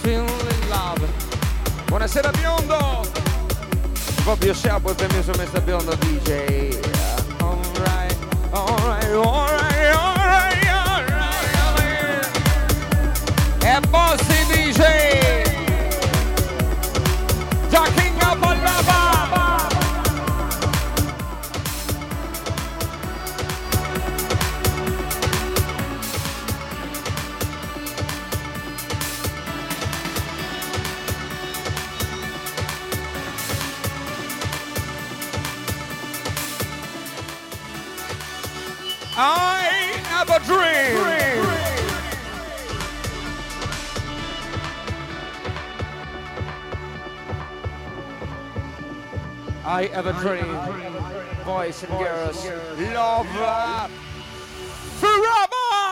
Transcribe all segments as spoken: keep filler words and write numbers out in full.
feeling love. Buonasera biondo. Un po' più sciapo e permesso mister Biondo D J. Alright, alright, alright, alright, alright, alright. E Bossy D J. Talking up on lava. I have a dream. dream. I have a dream. Boys and girls, love forever.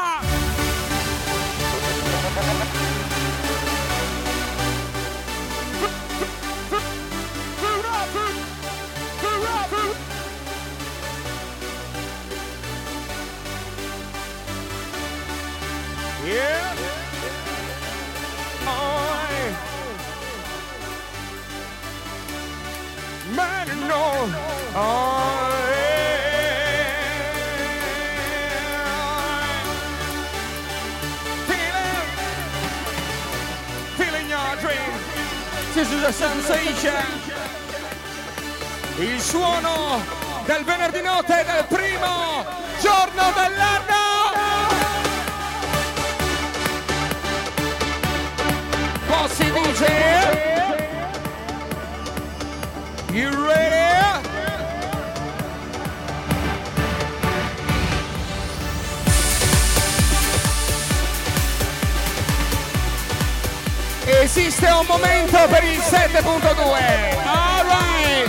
Yeah. I man no. I feeling, feeling your dream. This is a sensation. Il suono del venerdì notte del primo giorno dell'anno. Bossy D J, you ready? Esiste un momento per il sette punto due. All right.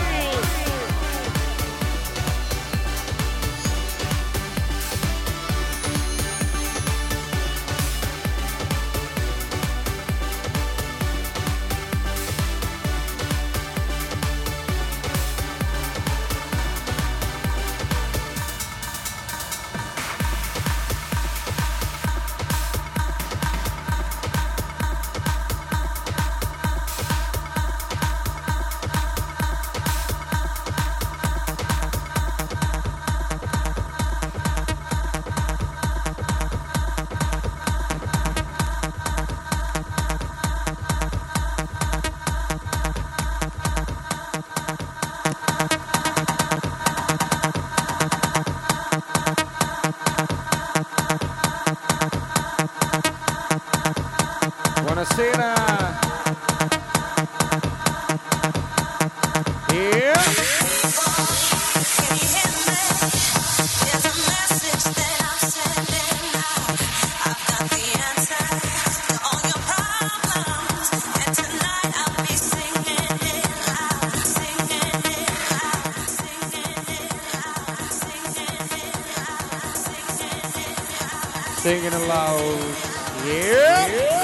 Buonasera. Yeah. Singing aloud. Yeah. yeah.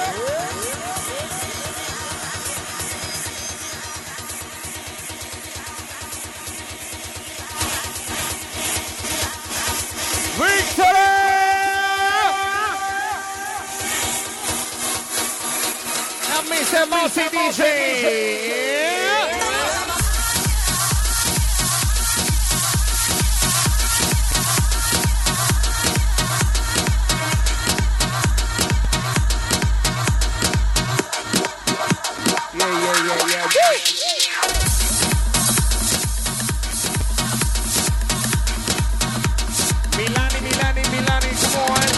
mister Bossy D J. Yeah, yeah, yeah, yeah. Woo! Milani, Milani, Milani, come on.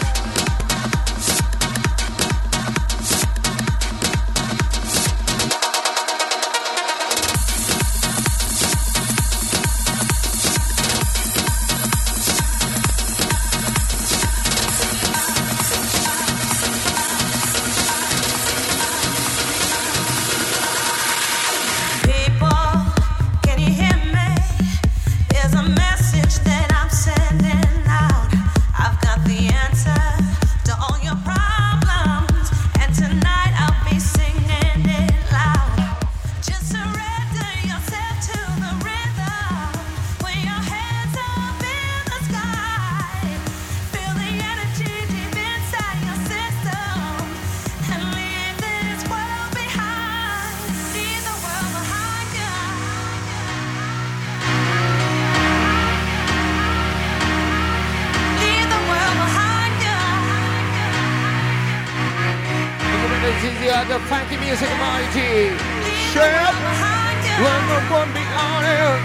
is the other funky music commodity. Shut when the one be on it.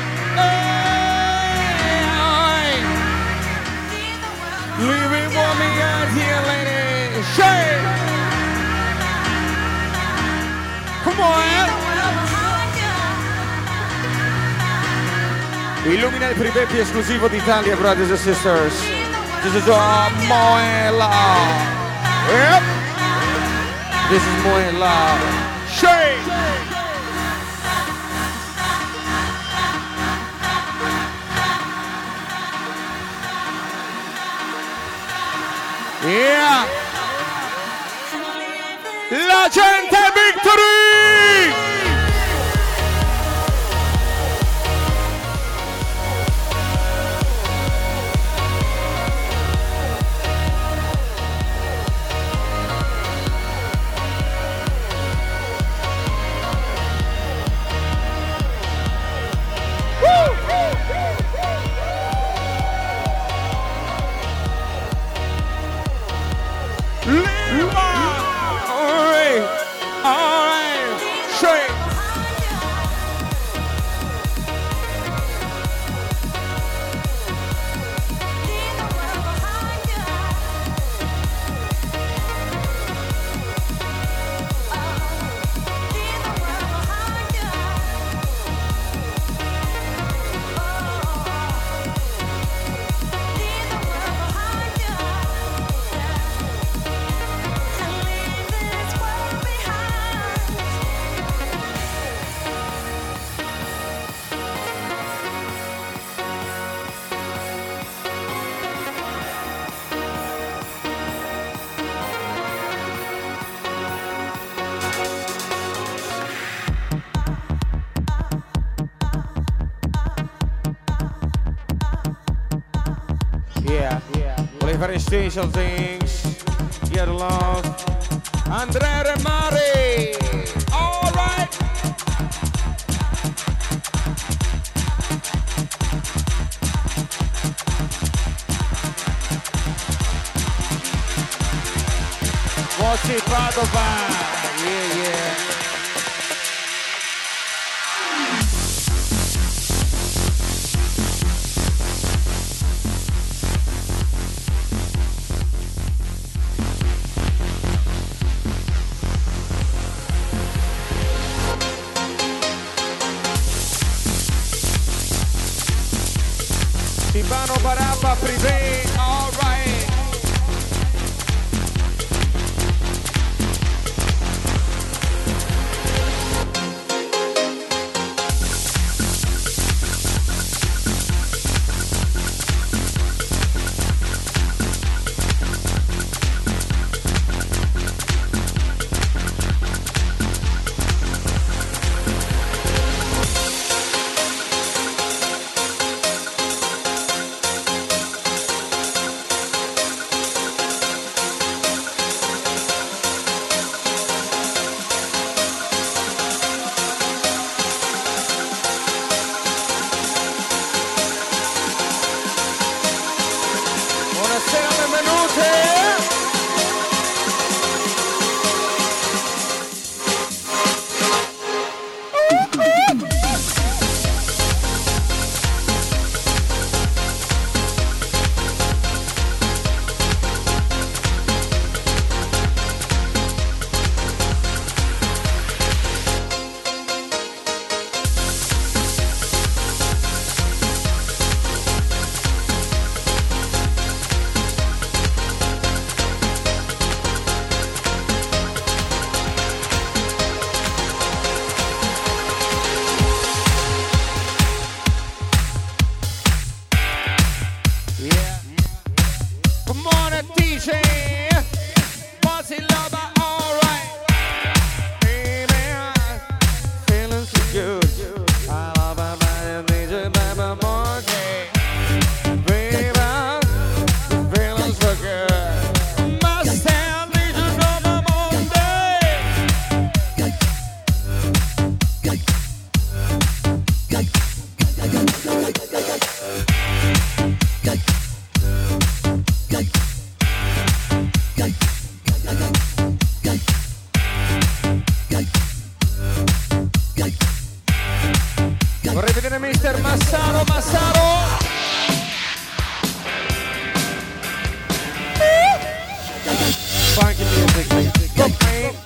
Leaving for me out here, lady. Shake. Come on. Illumina il privé più esclusivo d'Italia, brothers and sisters. This is uh, Moela. Yep. This is Moela. Shake. Yeah. La gente Victory. Fare special things, get along. Andrea Remari, all right. Voci Padova, yeah, yeah. Silvano Barabba, Privé, all right. Massaro, Massaro. Funky music, music. Go, man.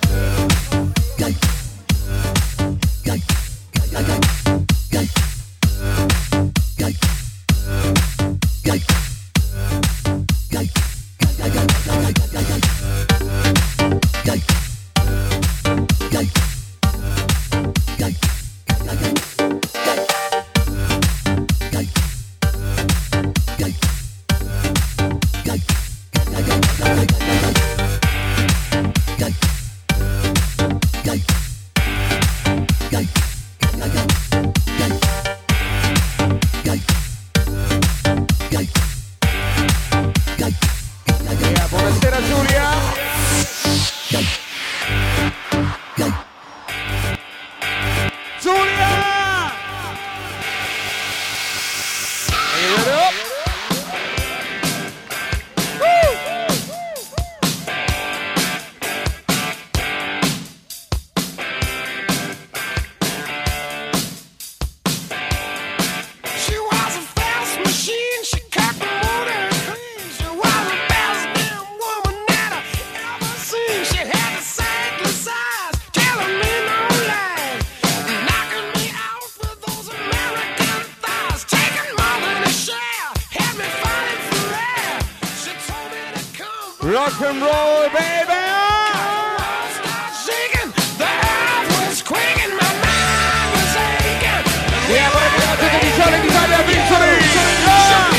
Rock and roll, baby! Shaking, the earth was quaking, my mind was aching. Yeah, but I'm going to be telling you that victory! Yeah!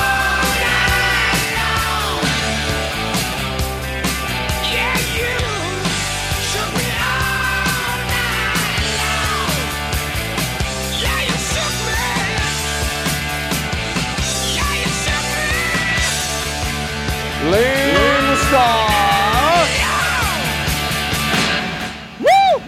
Yeah, you shook me all night long. Yeah, you shook me. Yeah, you shook me. Lane Star. Woo!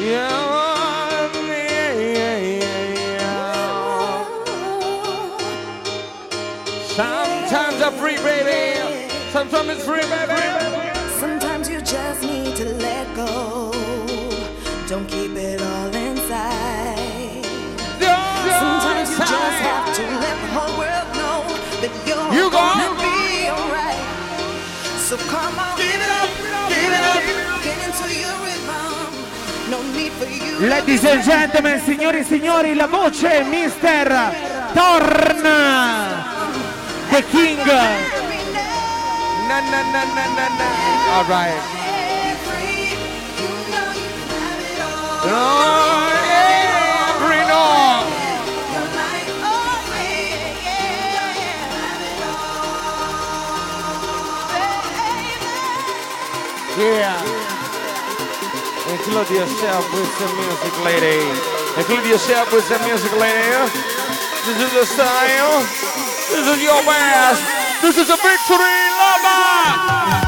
Yeah, yeah, yeah, yeah. Sometimes I'm free, baby. Sometimes it's free, baby. Sometimes you just need to let go. Don't keep it all inside. Sometimes you just have to let the whole world know that you're you gonna go. be alright. So come on, give it up, give it up, get into your rhythm. No need for you. Ladies and gentlemen, signori e signori, la voce mister Thorn, the King. Na na na na na na. All right. Oh, every no. Yeah. Include yourself with some music, lady. Include yourself with some music, lady. This is the style. This is your best. This is a victory, Lama.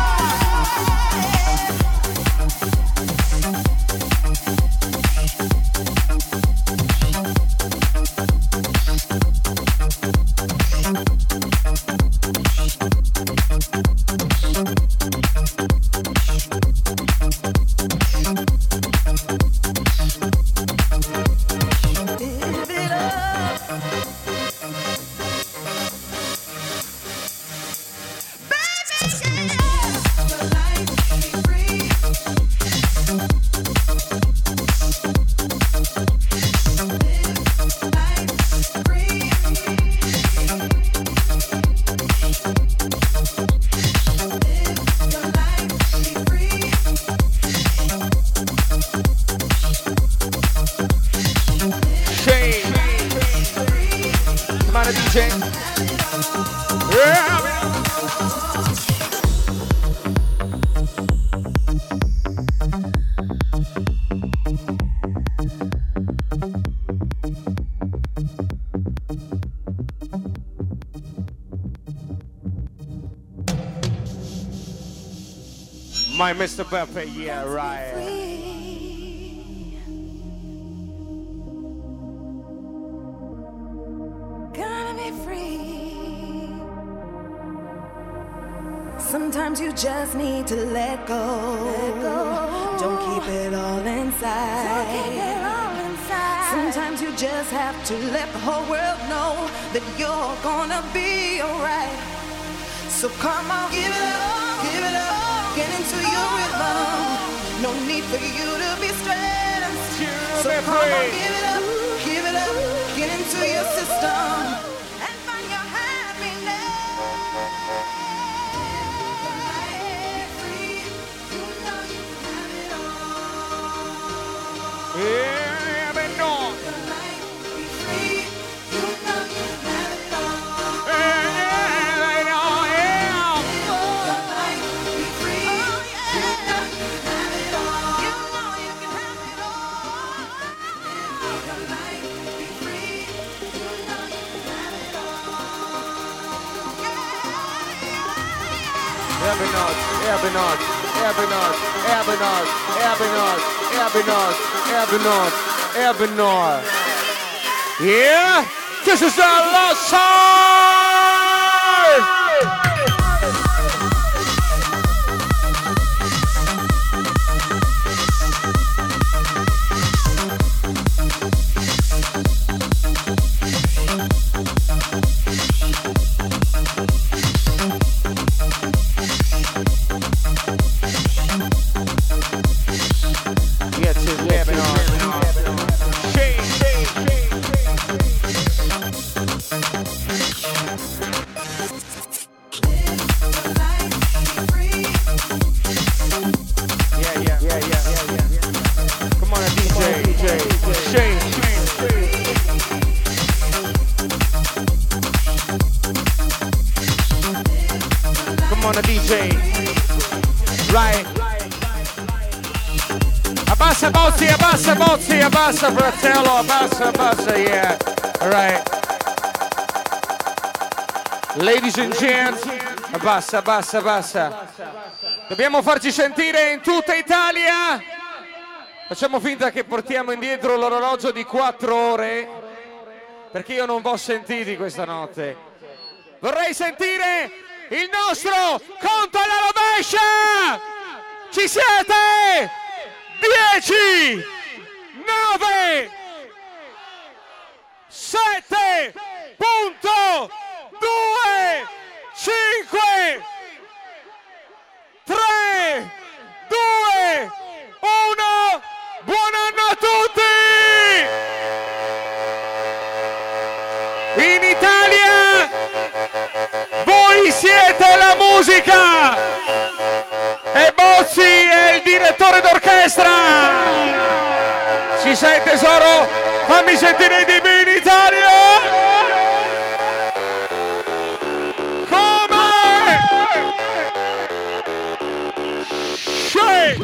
My Mister Pepe, yeah, right. Gonna be free. Sometimes you just need to let go. Let go. Don't keep it all inside. Don't keep it all inside. Sometimes you just have to let the whole world know that you're gonna be alright. So come on, give it up, give it up. Get into your rhythm. No need for you to be stressed. So come on, give it up, give it up. Get into your system and find your happiness. Free, you know you have it all. Yeah, but no. Be free, you know you have it all. Yeah, I know, yeah. Be free, you know you have it all. You know you can have it all. Your life, be free, you know you can have it all. Ebenard, Ebenard, Ebenard, Ebenard, Ebenard, Ebenard, Ebenard, Ebenard. Yeah, this is our last song. Yes, it's Lebanon. Shake, shake, shake, yeah, yeah, yeah, yeah, yeah, yeah. Come on, D J, D J, shake, shake, shake. Come on, D J. Right. Abbassa Bozzi, abbassa Bozzi, abbassa fratello, abbassa, abbassa, yeah. All right. Ladies and gents, abbassa, abbassa, abbassa. Dobbiamo farci sentire in tutta Italia. Facciamo finta che portiamo indietro l'orologio di quattro ore, perché io non vi ho sentiti questa notte. Vorrei sentire il nostro conto alla rovescia! Ci siete? dieci, nove, sette, due, cinque, tre, due, uno, buon anno a tutti! In Italia voi siete la musica e Bozzi è il direttore d'orchestra. Ci sei tesoro? Fammi sentire di più in Italia! Come? Shake!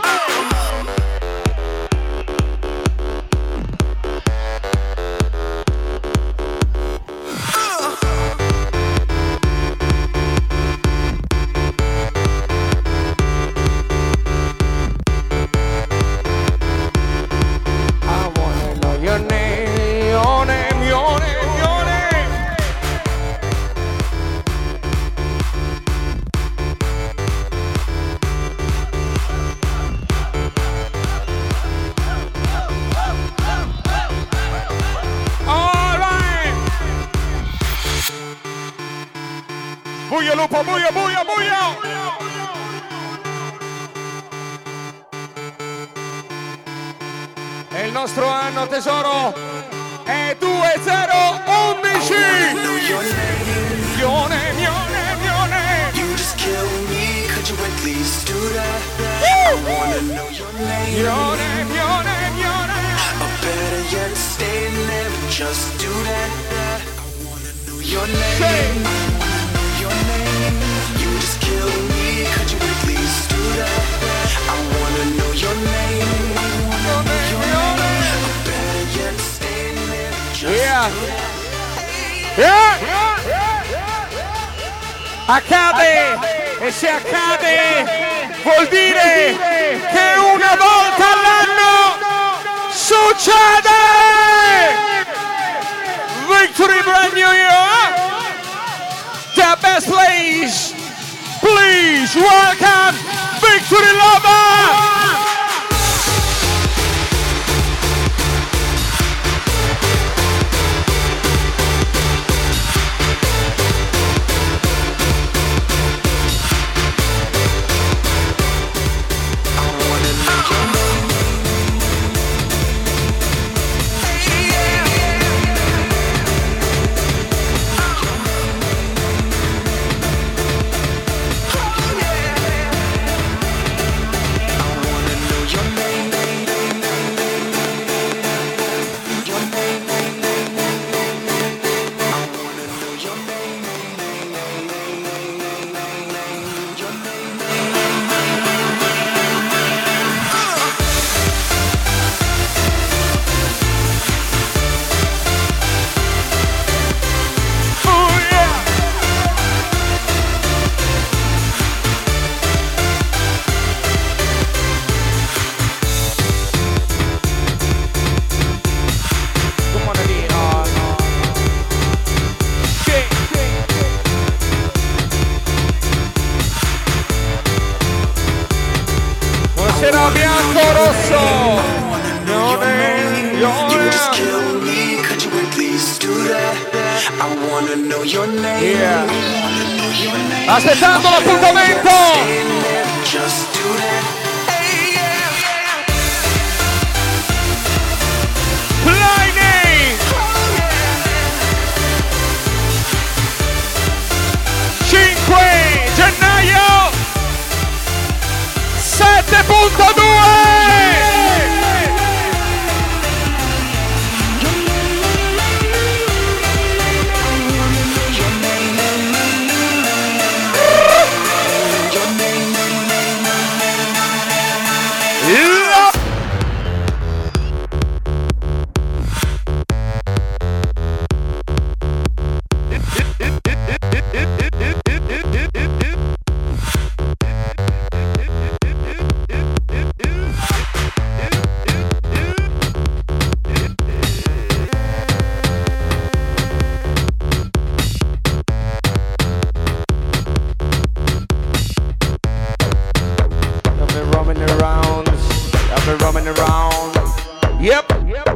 Buio lupo, buio, buio, buio! E il nostro anno tesoro è due zero undici! Mione, mione, mione! You just kill me, could you at least do that? I wanna know your name. Mione, mione, mione! Or better yet, stay and never just do that. I wanna know your name. Your name. You just kill me, could you at least do that? I wanna know your name. Your name, your name. Or better yet, stay and never just Yeah. do that. Yeah. Accade, e se accade vuol dire che una volta all'anno succede! Victory brand new year! The best place! Please welcome Victory Lover! Buonasera bianco rosso! Yone, yone. Yeah. Aspettando l'appuntamento! Blinding! cinque gennaio sette punto due! roaming around. I've been roaming around. Yep. Yep.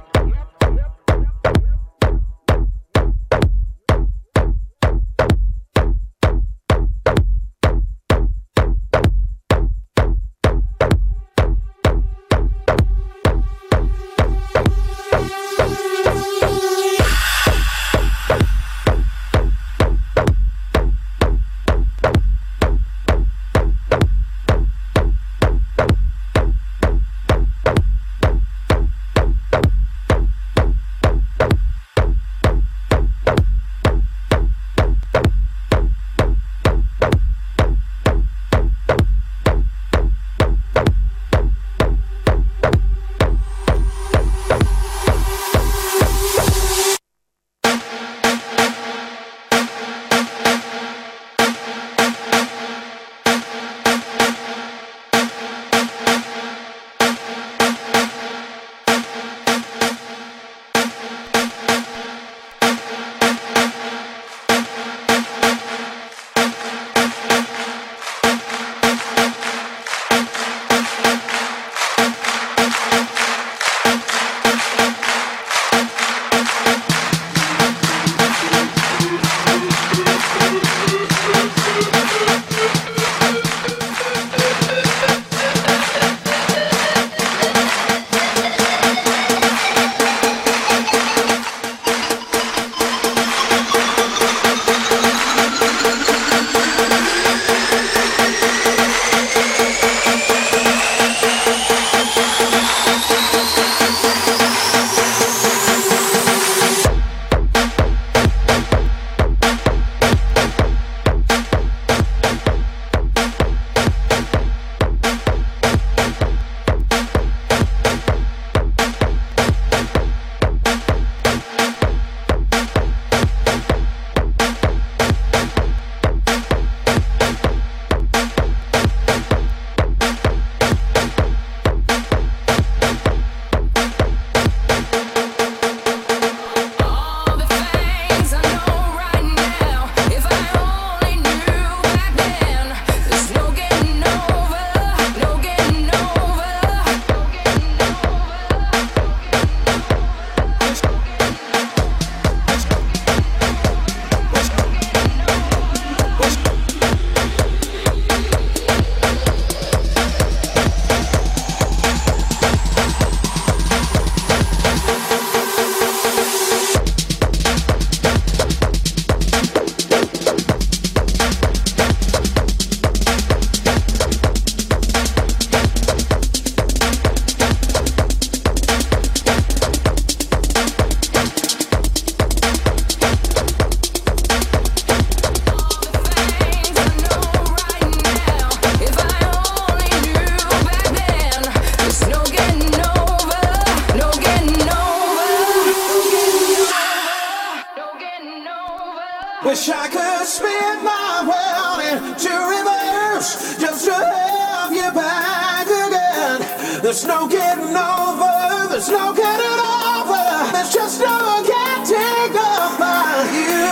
Wish I could spin my world into reverse just to have you back again. There's no getting over, there's no getting over, there's just no getting over you.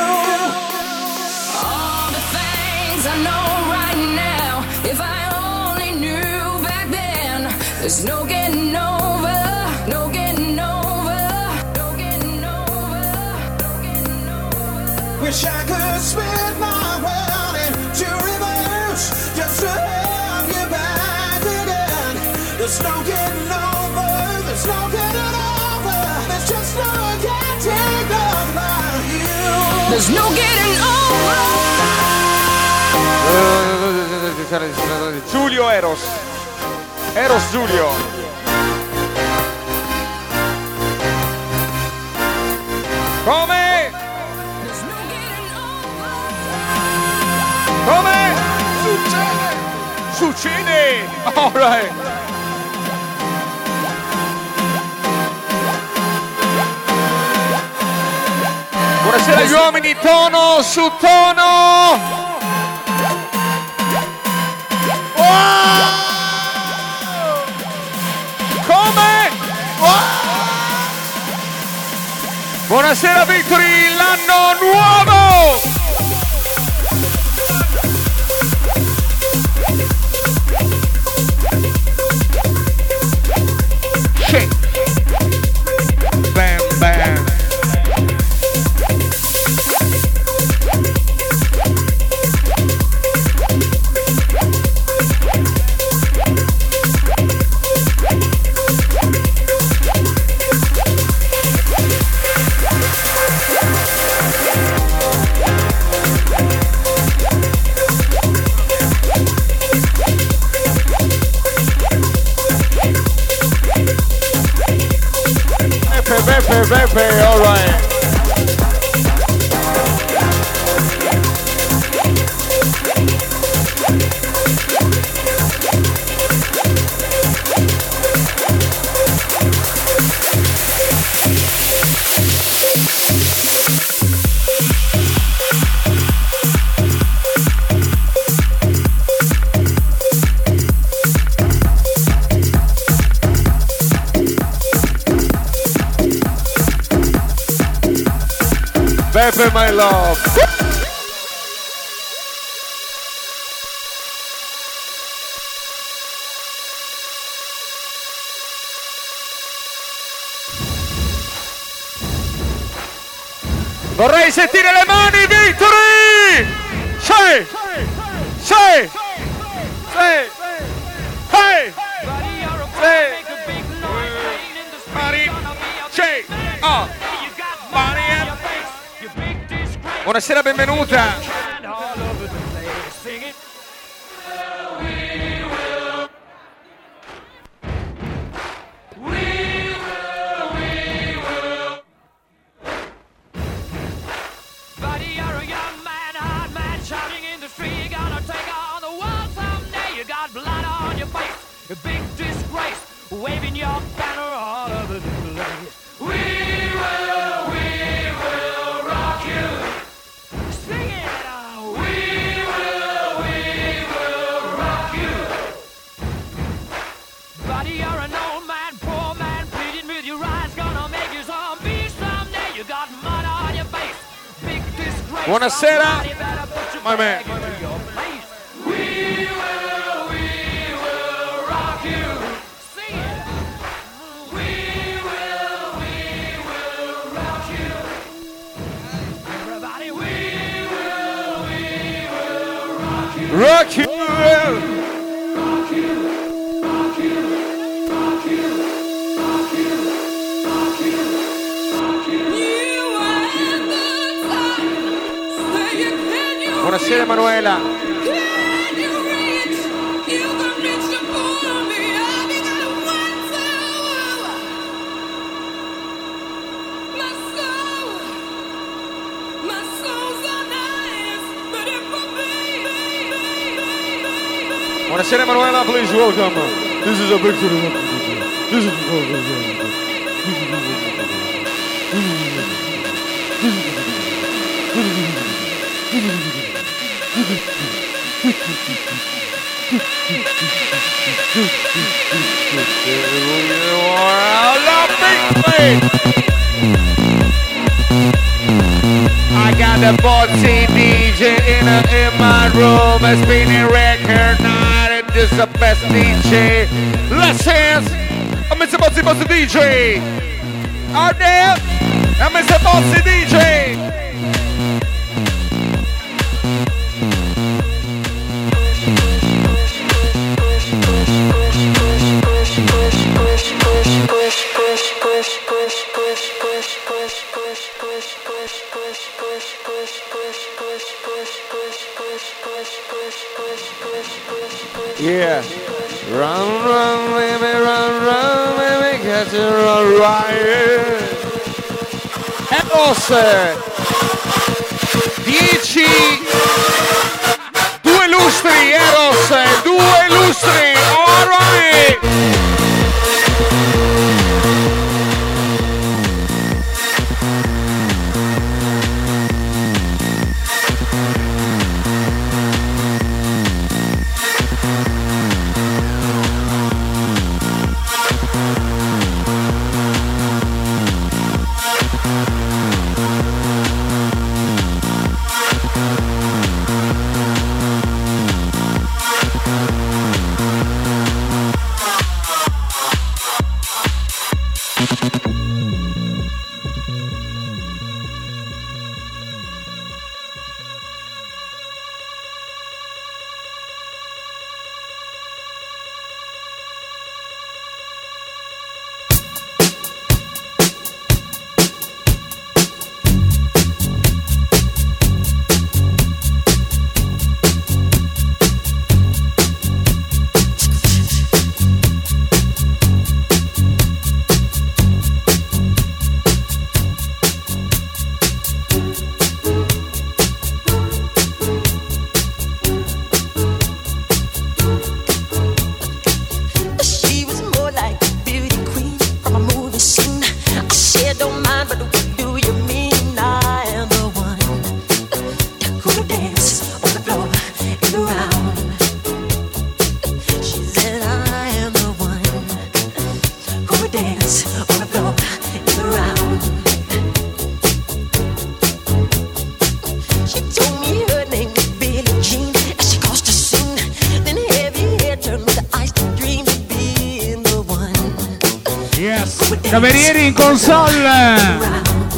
All the things I know right now, if I only knew back then, there's no getting over, no getting over, no getting over, no getting over. Wish I could spin my world into reverse just to have you back again. There's no getting over, there's no getting over, there's just no getting over you. There's no getting over. Giulio Eros. Eros Giulio. Come? Come? Succede! Succede! All right. Buonasera agli uomini, tono su tono! Wow! Come? Wow! Buonasera Victory, l'anno nuovo! Pepe, all right. Pepe, my love. Vorrei sentire le mani, Victory! Sì! Sì! Sì! Hey! Sì! Mani! Sì! Oh! Mani! Buonasera, benvenuta! Waving your banner all over the place. We will, we will rock you. Sing it out. We will, we will rock you. Buddy, you're an old man, poor man, pleading with your eyes, gonna make you zombie someday. You got mud on your face, big disgrace. Buonasera, my man. We will, we will rock you. Rock you! Rock you, rock you, rock you, rock you, rock you, rock you. You are the time. Say you can you Buonasera Emanuela. Can you reach? You can reach the point of me. I've got one soul. My soul, my soul's on ice, but it will be. Buonasera Emanuela, please welcome. This is a victory. This is I got the bossy D J in, a, in my room, a spinning record night, and this is the best D J. Let's dance! I'm Mister Bossy Bossy D J. Out there, I'm Mister Bossy D J. Yeah. Run, run, baby, run, run, baby, catch it, run, right. Eros, dieci, due lustri, Eros, due lustri, all right. Yes. Camerieri in console.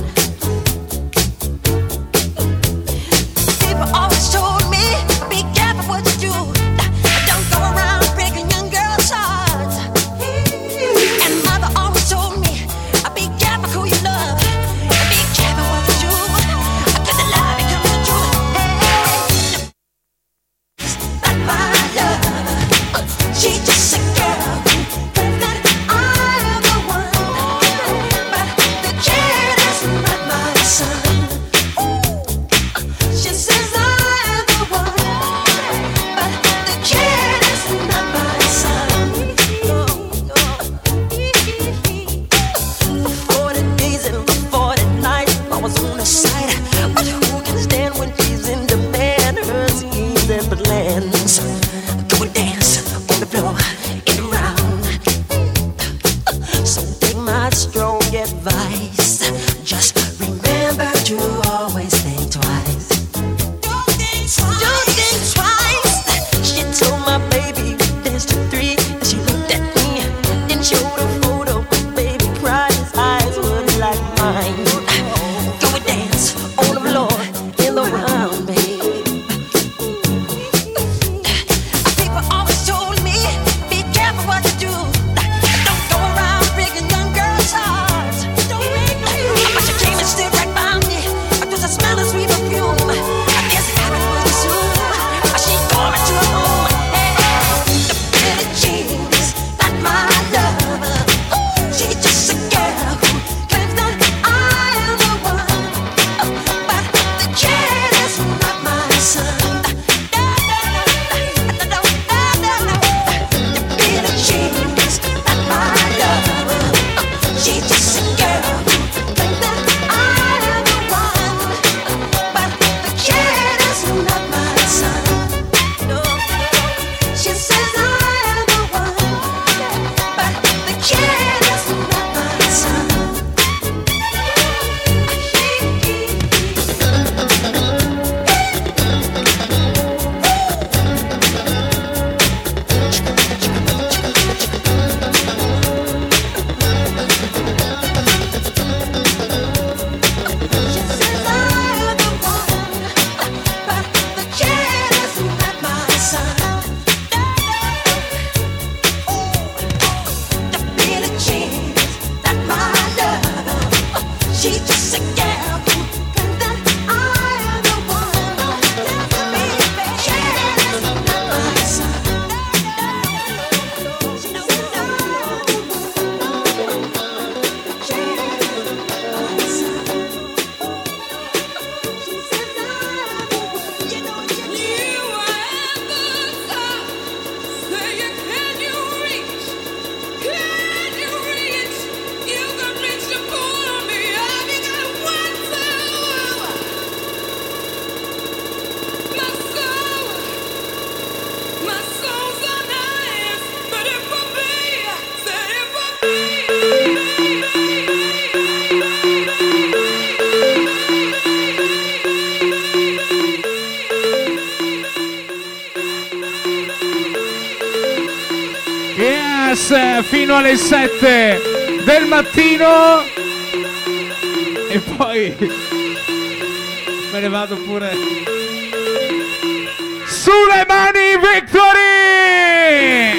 Fino alle sette del mattino e poi me ne vado pure. Sulle mani, Victory!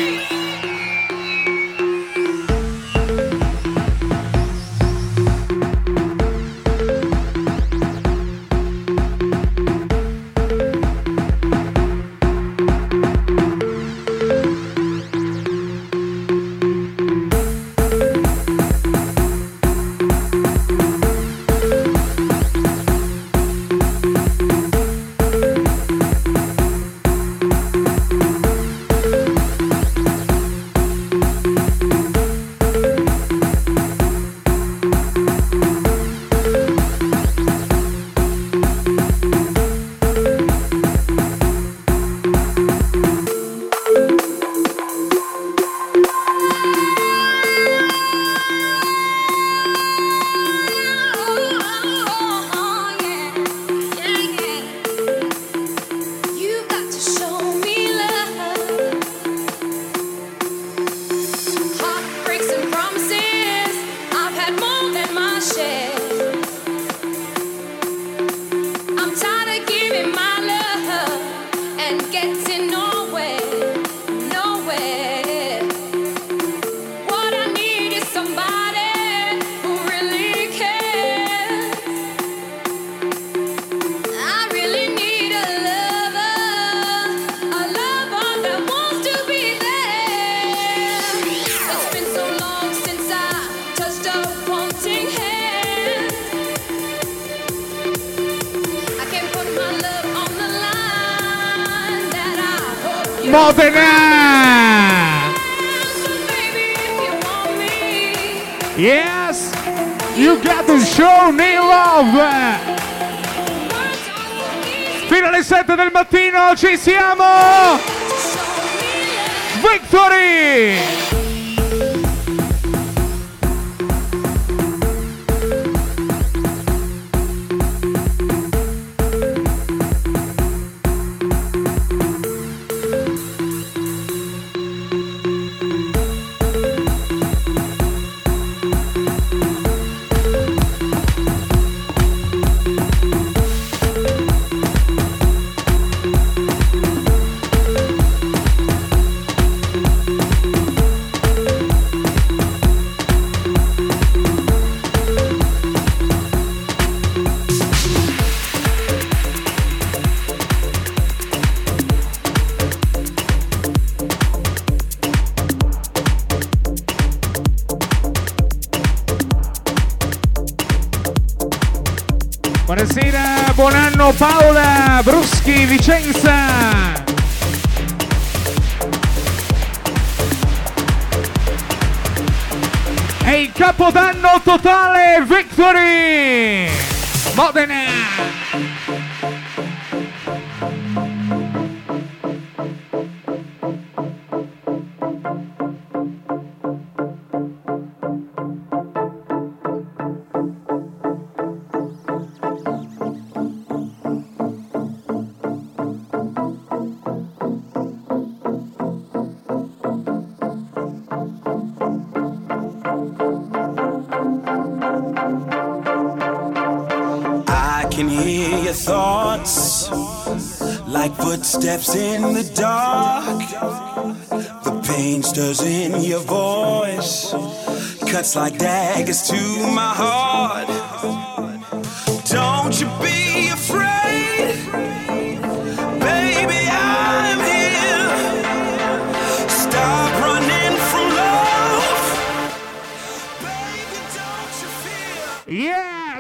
Modena! Yes! You got to show me love! Fino alle sette del mattino ci siamo! Victory! Buonasera, buon anno Paola Bruschi, Vicenza. È il capodanno totale, Victory! Modena! Footsteps in the dark, the pain stirs in your voice, cuts like daggers to my heart. Don't you be afraid, baby, I'm here. Stop running from love, baby, don't you fear? Yes!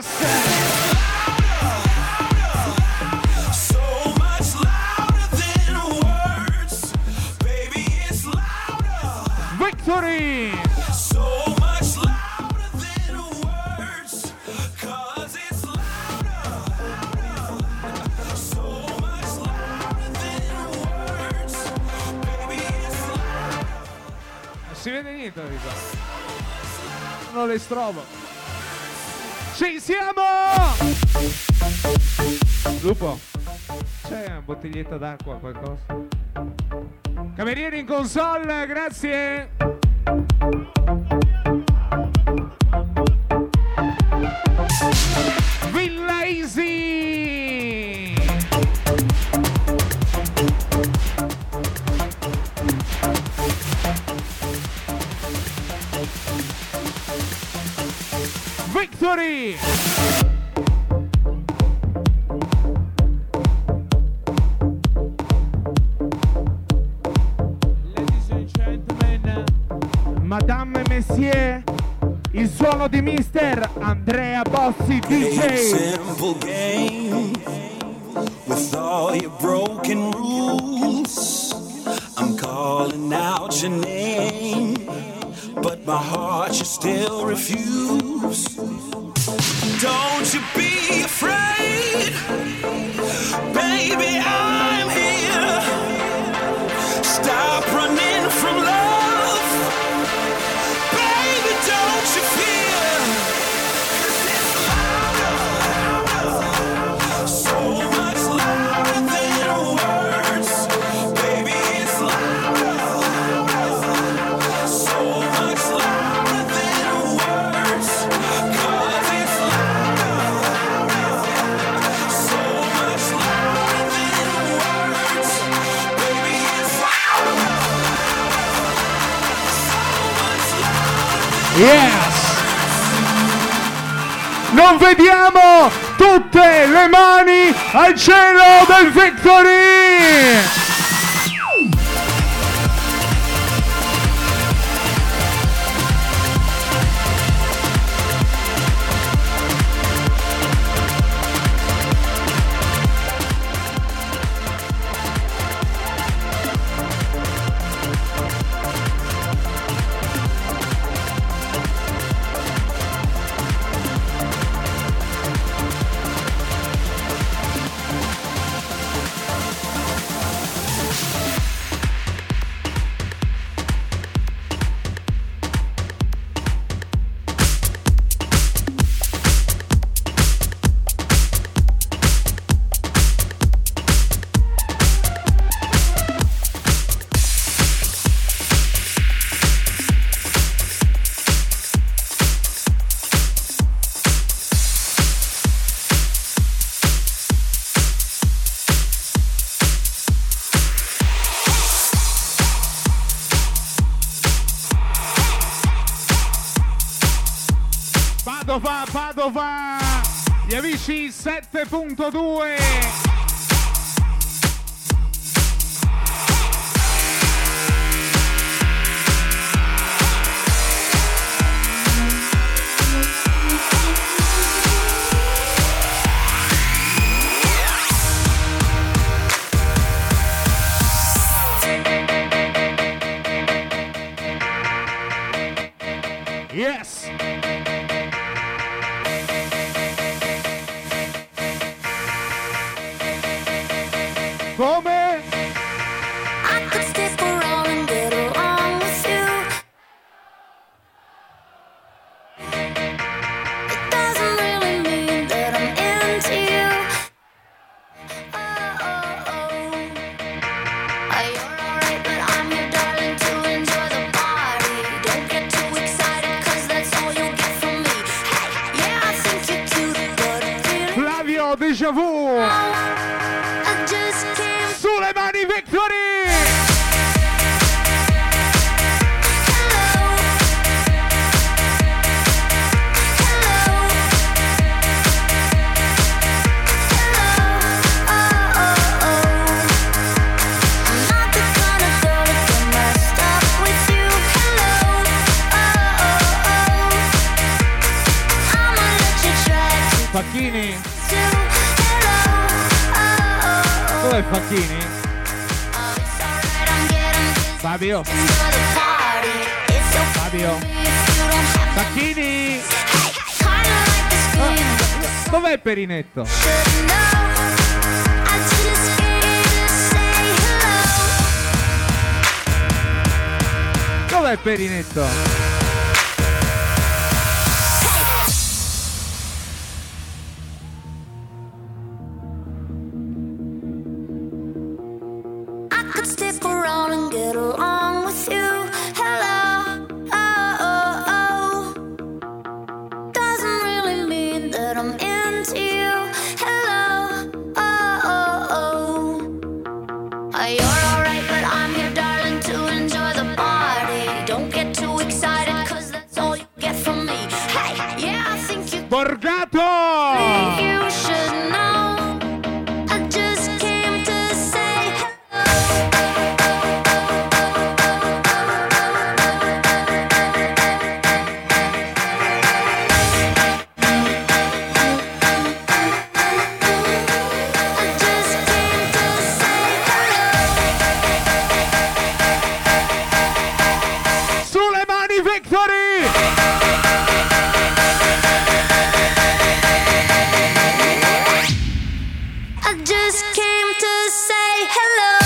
Victory! So much louder than words, 'cause it's louder. So much louder than words, baby, it's louder. Non si vede niente, non le strobo. Ci siamo! Lupo, c'è una bottiglietta d'acqua, qualcosa? Camerieri in console, grazie! Villa Easy! Victory! Madame e Messieurs, il suono di mister Andrea Bossi D J. Simple game with all your broken rules. I'm calling out your name, but my heart you still refuse. Don't you be afraid, baby, I'm here. Stop running from love. Don't you fear? 'Cause it's louder, so much louder than words. Baby, it's louder, so much louder than words. 'Cause it's louder, so much louder than words. Baby, it's louder, so much louder. Yes! Non vediamo tutte le mani al cielo del Victory! Padova, Padova, gli amici sette punto due. Yes! Come? I could stick around and get along with you. It doesn't really mean that I'm into you. Oh, oh, oh. Uh, You're alright, but I'm your darling to enjoy the party. Don't get too excited, cause that's all you'll get from me. Hey, yeah, I think you're cute, but really, Flavio Déjà Vu! I just can't. Sulle mani Victory! Facchini? Dov'è Facchini? Fabio? Fabio? Facchini? Ah, dov'è Perinetto? Dov'è Perinetto? Stick around and get along with you. Hello, oh, oh, oh. Doesn't really mean that I'm into you. Hello, oh, oh, oh. Uh, You're alright, but I'm here, darling, to enjoy the party. Don't get too excited, cause that's all you get from me. Hey, yeah, I think you Borgato! you should know. I just came to say Sulle mani Victory! I just came to say hello.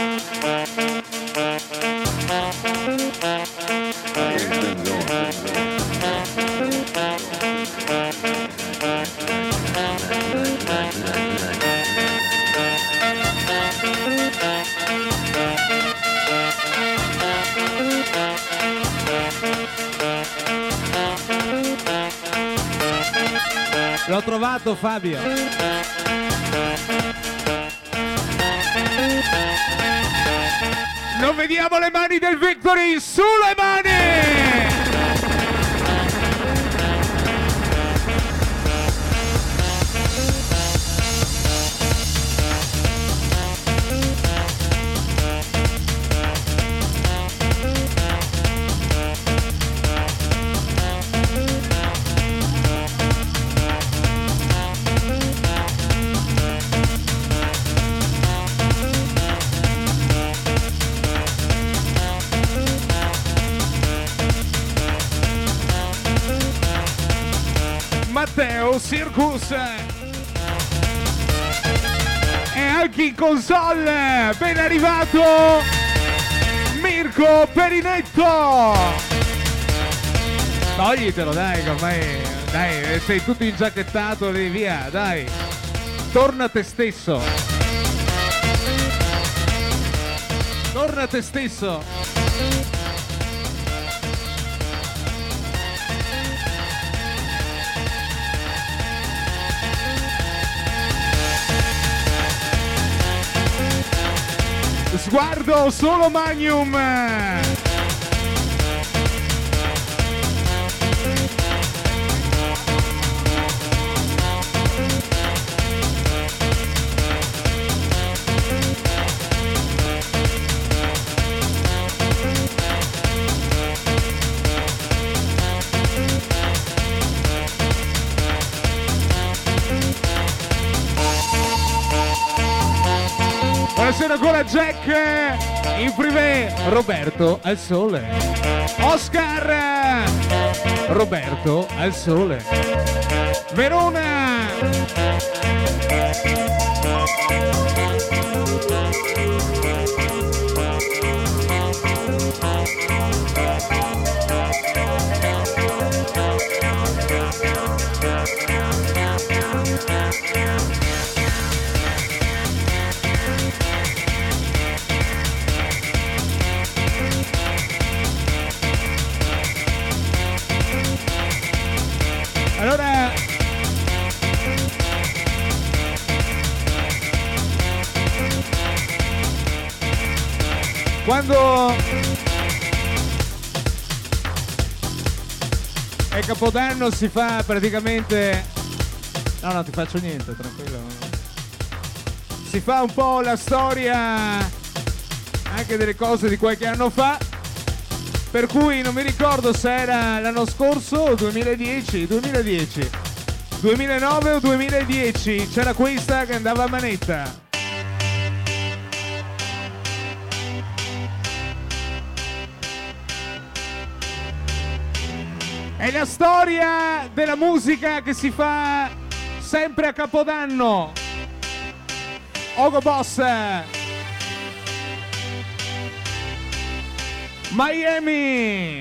It's been going. L'ho trovato, Fabio. Non vediamo le mani del Victory, sulle mani! Matteo Circus e anche in console ben arrivato Mirko Perinetto. Toglitelo dai, che ormai dai, sei tutto ingiacchettato lì, via, dai, torna a te stesso, torna a te stesso. Sguardo solo Magnum. Buonasera ancora Jack in privé, Roberto al sole, Oscar, Roberto al sole, Verona, allora quando è Capodanno si fa praticamente, no no ti faccio niente, tranquillo, si fa un po' la storia anche delle cose di qualche anno fa, per cui non mi ricordo se era l'anno scorso o duemiladieci, duemiladieci, duemilanove o duemiladieci, c'era questa che andava a manetta. È la storia della musica che si fa sempre a Capodanno. Ogo Boss, Miami,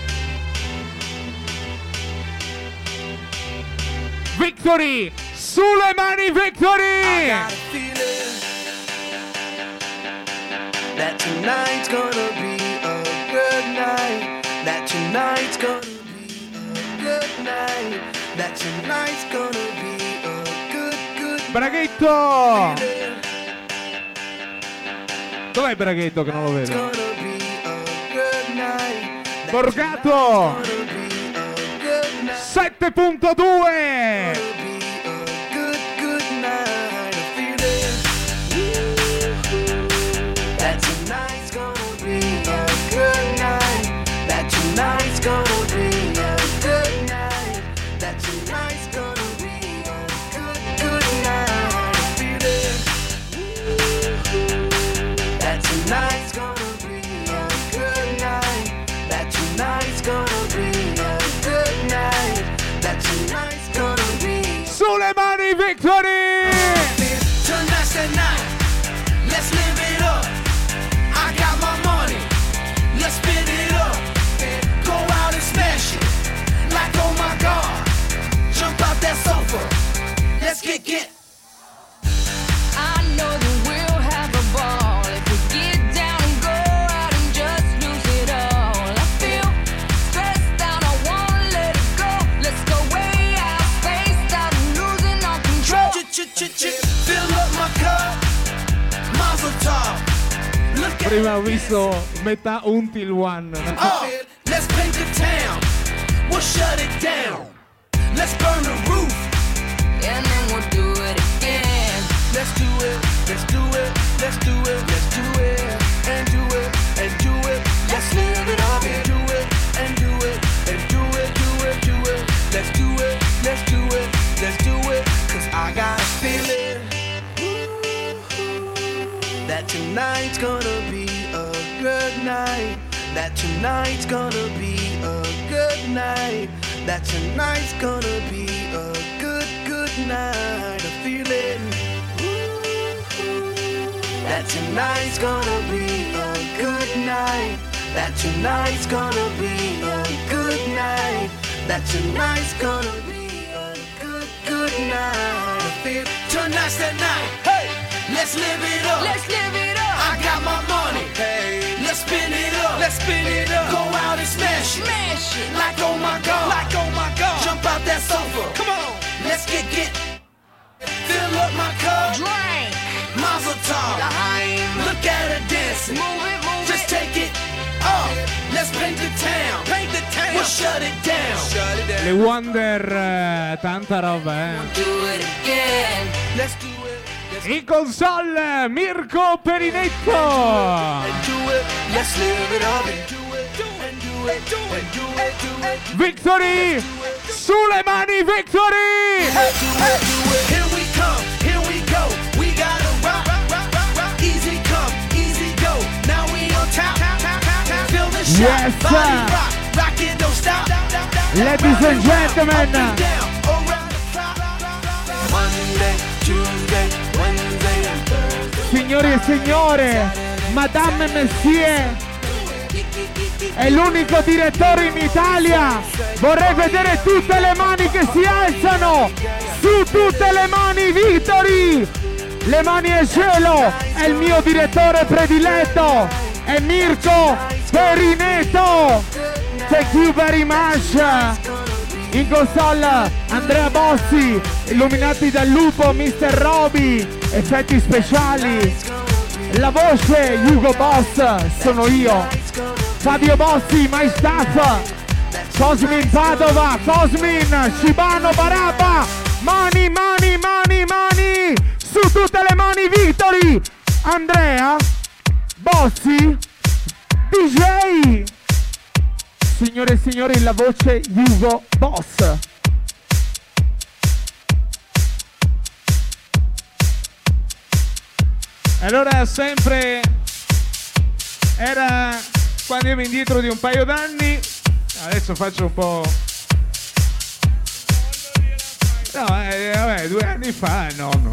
Victory, sulle mani Victory. I got a feeling that tonight's gonna be a good night. That tonight's gonna be a good night. That tonight's gonna be a good, good Braghetto. Dov'è Braghetto che non lo vedo? gonna be a good night. That Borgato tonight's gonna be a good night. sette punto due. Gonna be a good, good night. I feel it. That tonight's gonna be a good night. That tonight's gonna be a good night. That tonight's gonna be a good, good night. I feel it. That tonight's gonna be a good night. That tonight's gonna be a good night. That tonight's gonna be prima ho visto metà Until One. Oh, let's paint the town. We'll shut it down. Let's burn the roof. And then we'll do it again. Let's do it, let's do it, let's do it, let's do it. And do it, and do it. Let's live it up and do it, and do it, and do it, do it, do it. Let's do it, let's do it, let's do it. Cause I got a feeling that tonight's gonna be a good night. That tonight's gonna be a good night. That tonight's gonna be a good, good night. A feeling that tonight's gonna be a good night. That tonight's gonna be a good night. That tonight's gonna be a good, good night. I feel tonight's the night. Hey, let's live it up. Let's live it up. I got my money. Hey, let's spin it up. Let's spin it up. Go out and smash it. Smash it. Like oh my god. Like oh my god. Jump out that sofa. Come on. Let's get get. Fill up my cup. Drink. Mazel tov. Look at her dancing. Move it, move Just it. take it. Oh, let's paint the town. Paint the town. We'll shut it down. Shut it down. Le Wonder, eh, tanta roba, eh. Do it again. Let's do it. Let's In console Mirko Perinetto. and do it. Let's live it up and do it. And do it. And do it. Do it. Victory! Sulle mani, Victory! Do it. Do it. Here we come. Here we go. We gotta rock. rock, rock, rock. Easy come. Easy go. Now we on top. Feel the shot. Yes, Body sir. rock. Rock it, don't stop. Ladies and gentlemen. Up and down. Around the clock. Monday, Tuesday, Wednesday and Thursday. Signori e signore, Madame Messier è l'unico direttore in Italia. Vorrei vedere tutte le mani che si alzano. Su tutte le mani, Victory! Le mani al cielo. È il mio direttore prediletto. È Mirko Perinetto. Thank you very much. In console Andrea Bossi, illuminati dal lupo mister Roby, effetti speciali. La voce Hugo Boss sono io. Fabio Bossi, my staff. Cosmin Padova, Cosmin, Shibano Barabba. Mani, mani, mani, mani. Su tutte le mani, Victory. Andrea Bossi, D J. Signore e signori, la voce Hugo Boss. Allora sempre era qua, andiamo indietro di un paio d'anni. Adesso faccio un po'. No, eh, vabbè, due anni fa, no, no.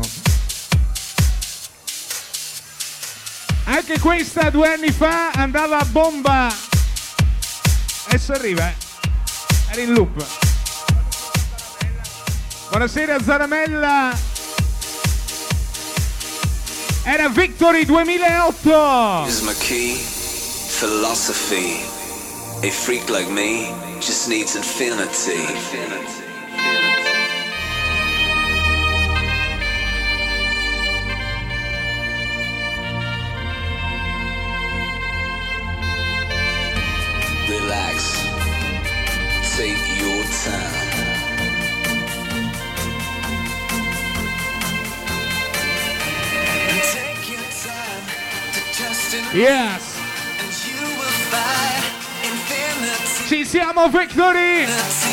Anche questa due anni fa andava a bomba. Adesso arriva, eh. Era in loop. Buonasera Zaramella. Era Victory duemilaotto. Is my key philosophy. A freak like me just needs infinity. Relax. Take your time. Take your time to trust in Yes. and you will find infinity. Ci siamo, Victory.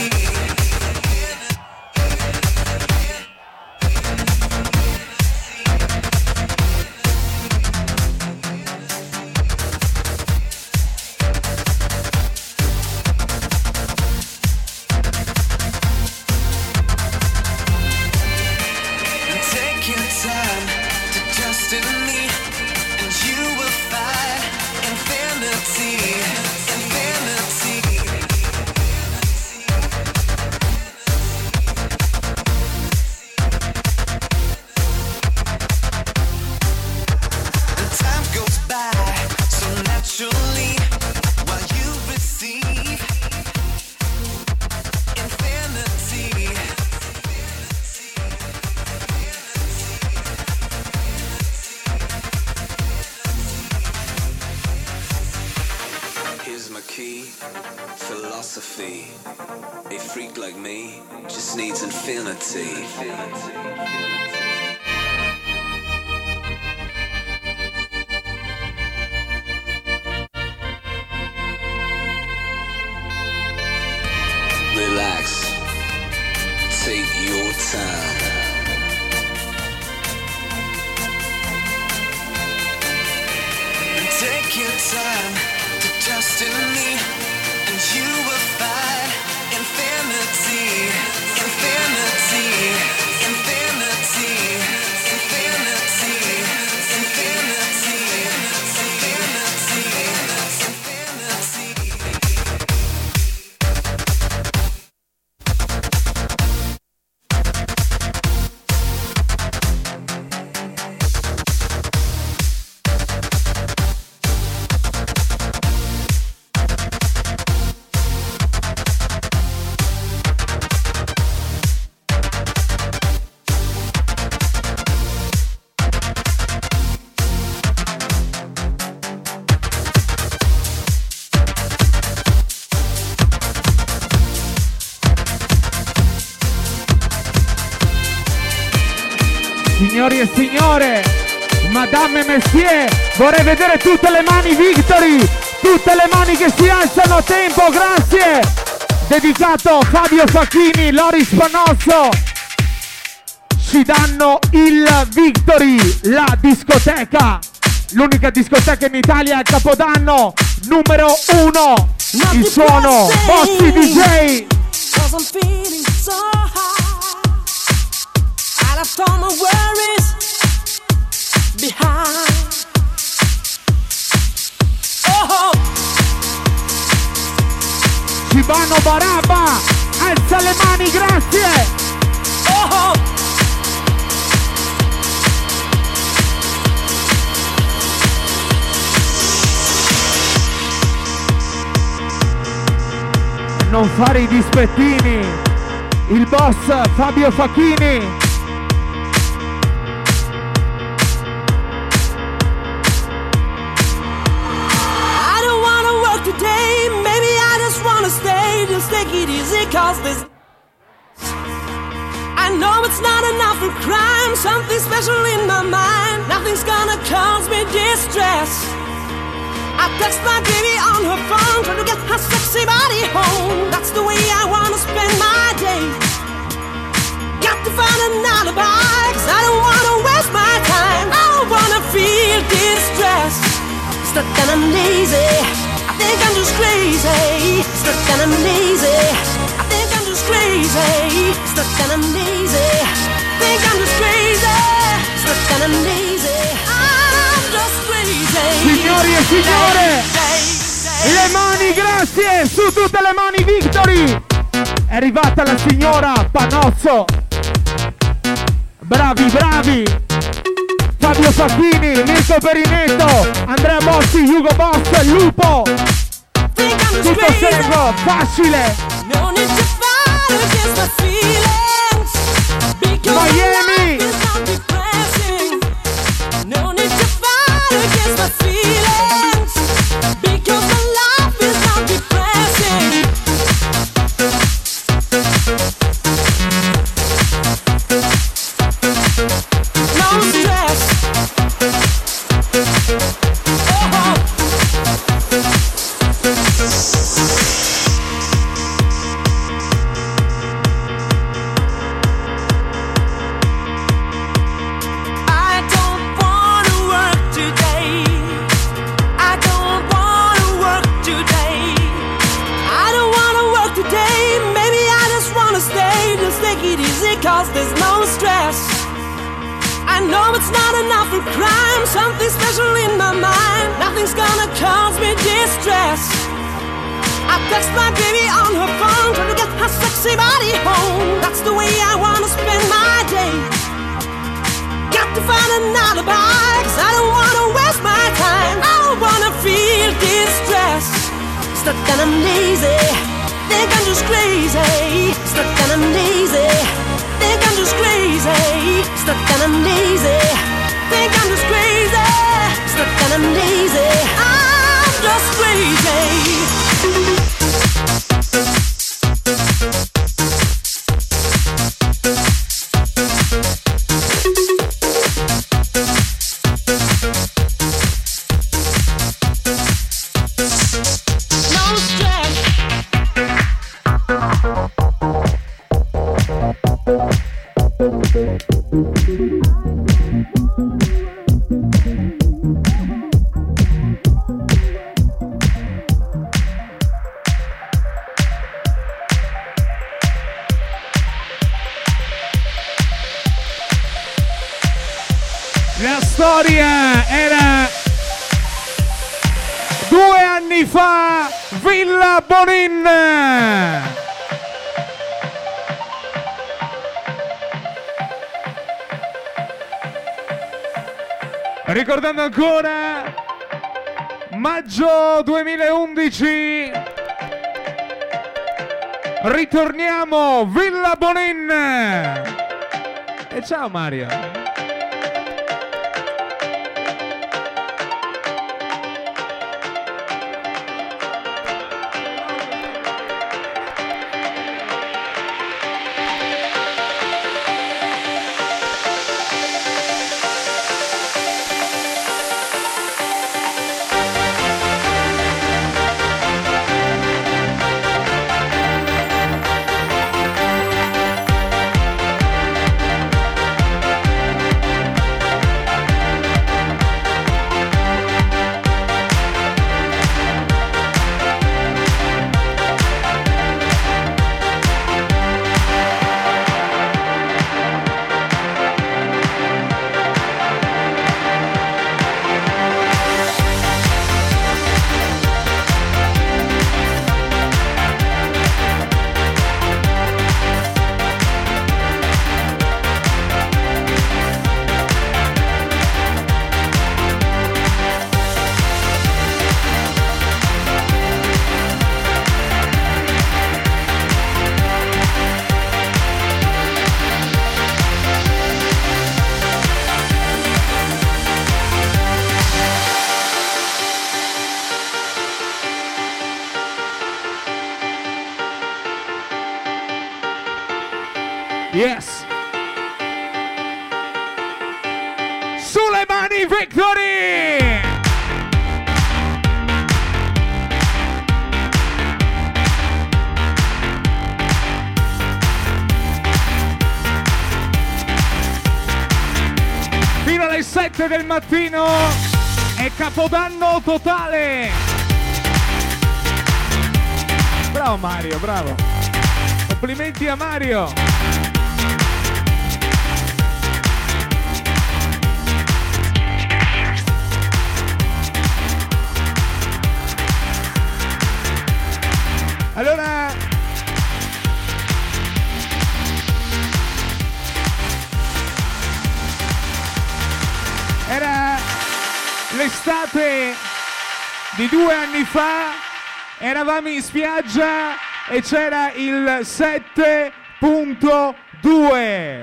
Take your time to trust in me, and you will find infinity, infinity. key, philosophy. A freak like me just needs infinity. Relax, take your time. Take your time to trust in me, and you will find infinity, infinity, infinity, infinity, infinity, Signori e signore, Madame e Messier, vorrei vedere tutte le mani Victory, tutte le mani che si alzano a tempo, grazie! Dedicato Fabio Facchini, Loris Panozzo, ci danno il Victory, la discoteca, l'unica discoteca in Italia a Capodanno, numero uno, il suono, Bossi D J! Cause I'm feeling so high. I left all my worries behind. Oh, Cibano Barabba, alza le mani, grazie! oh, Non fare i dispettini, il boss Fabio Facchini. I don't wanna work today. Maybe I just wanna stay. Just take it easy, cause this. I know it's not enough for crime. Something special in my mind. Nothing's gonna cause me distress. I text my baby on her phone, trying to get her sexy body home. That's the way I wanna spend my day. Got to find an alibi, cause I don't wanna waste my time. I don't wanna feel distressed. Stuck and I'm lazy, I think I'm just crazy. Stuck and I'm lazy, I think I'm just crazy. Stuck and I'm lazy, think I'm just crazy. Stuck and I'm lazy, I'm just crazy. Signori e signore, le mani, grazie, su tutte le mani Victory. È arrivata la signora Panozzo. Bravi, bravi. Fabio Facchini, Mirko Perinetto, Andrea Bossi, Hugo Boss, Lupo. Tutto servo, facile. No need to fight against my feelings, because Miami. my life is not depressing. No need to fight against my feelings, because my life is not depressing. No stress. Oh. I don't wanna work today. I don't wanna work today. I don't wanna work today. Maybe I just wanna stay. Just take it easy, cause there's no stress. I know it's not enough for crime. Something special in my mind. Nothing's gonna cause me distress. I text my baby on her phone, trying to get her sexy body home. That's the way I wanna spend my day. Got to find an alibi, cause I don't wanna waste my time. I don't wanna feel distressed. Stuck and I'm lazy, think I'm just crazy. Stuck and I'm lazy, think I'm just crazy. Stuck and I'm lazy, think I'm just crazy. Stuck and I'm lazy, I'm just crazy. storia era due anni fa, Villa Bonin. Ricordando ancora maggio duemilaundici, ritorniamo Villa Bonin. E ciao Mario. Yes. Sulle mani, Victory! Fino alle sette del mattino è Capodanno totale. Bravo Mario, bravo. Complimenti a Mario. Allora, era l'estate di due anni fa, eravamo in spiaggia e c'era il sette punto due.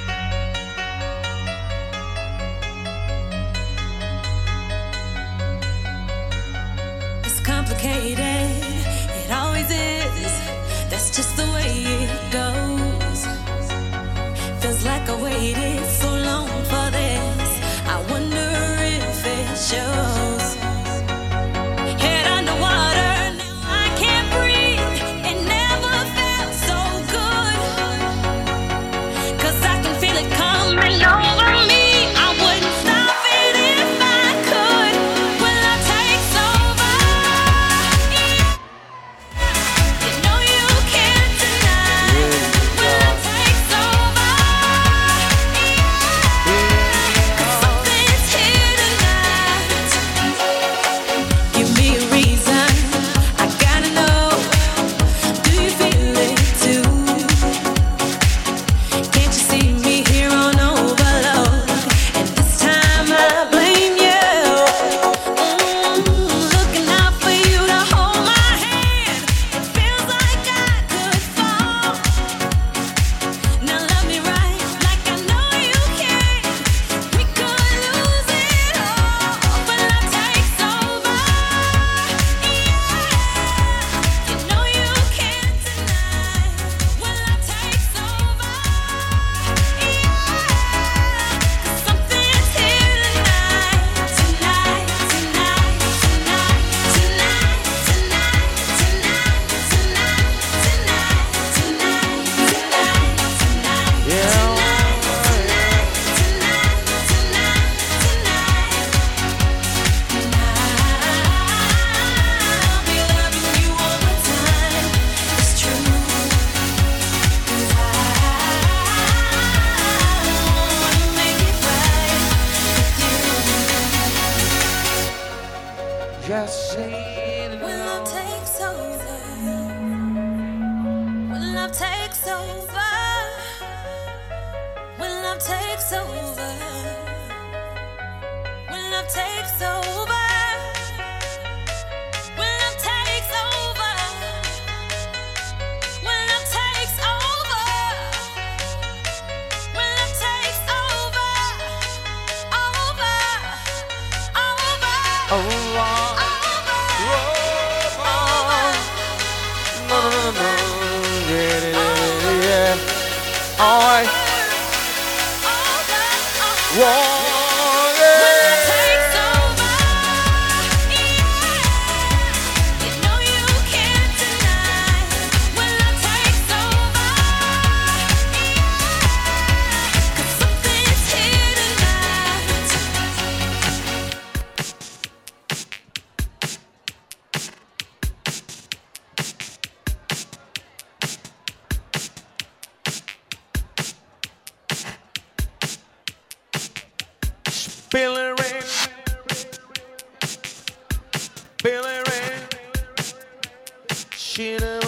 It's complicated. It always is, that's just the way it goes. Feels like I waited so long for this. I wonder if it shows. Head underwater, now I can't breathe. It never felt so good. 'Cause I Billy Ray, Billy Ray, she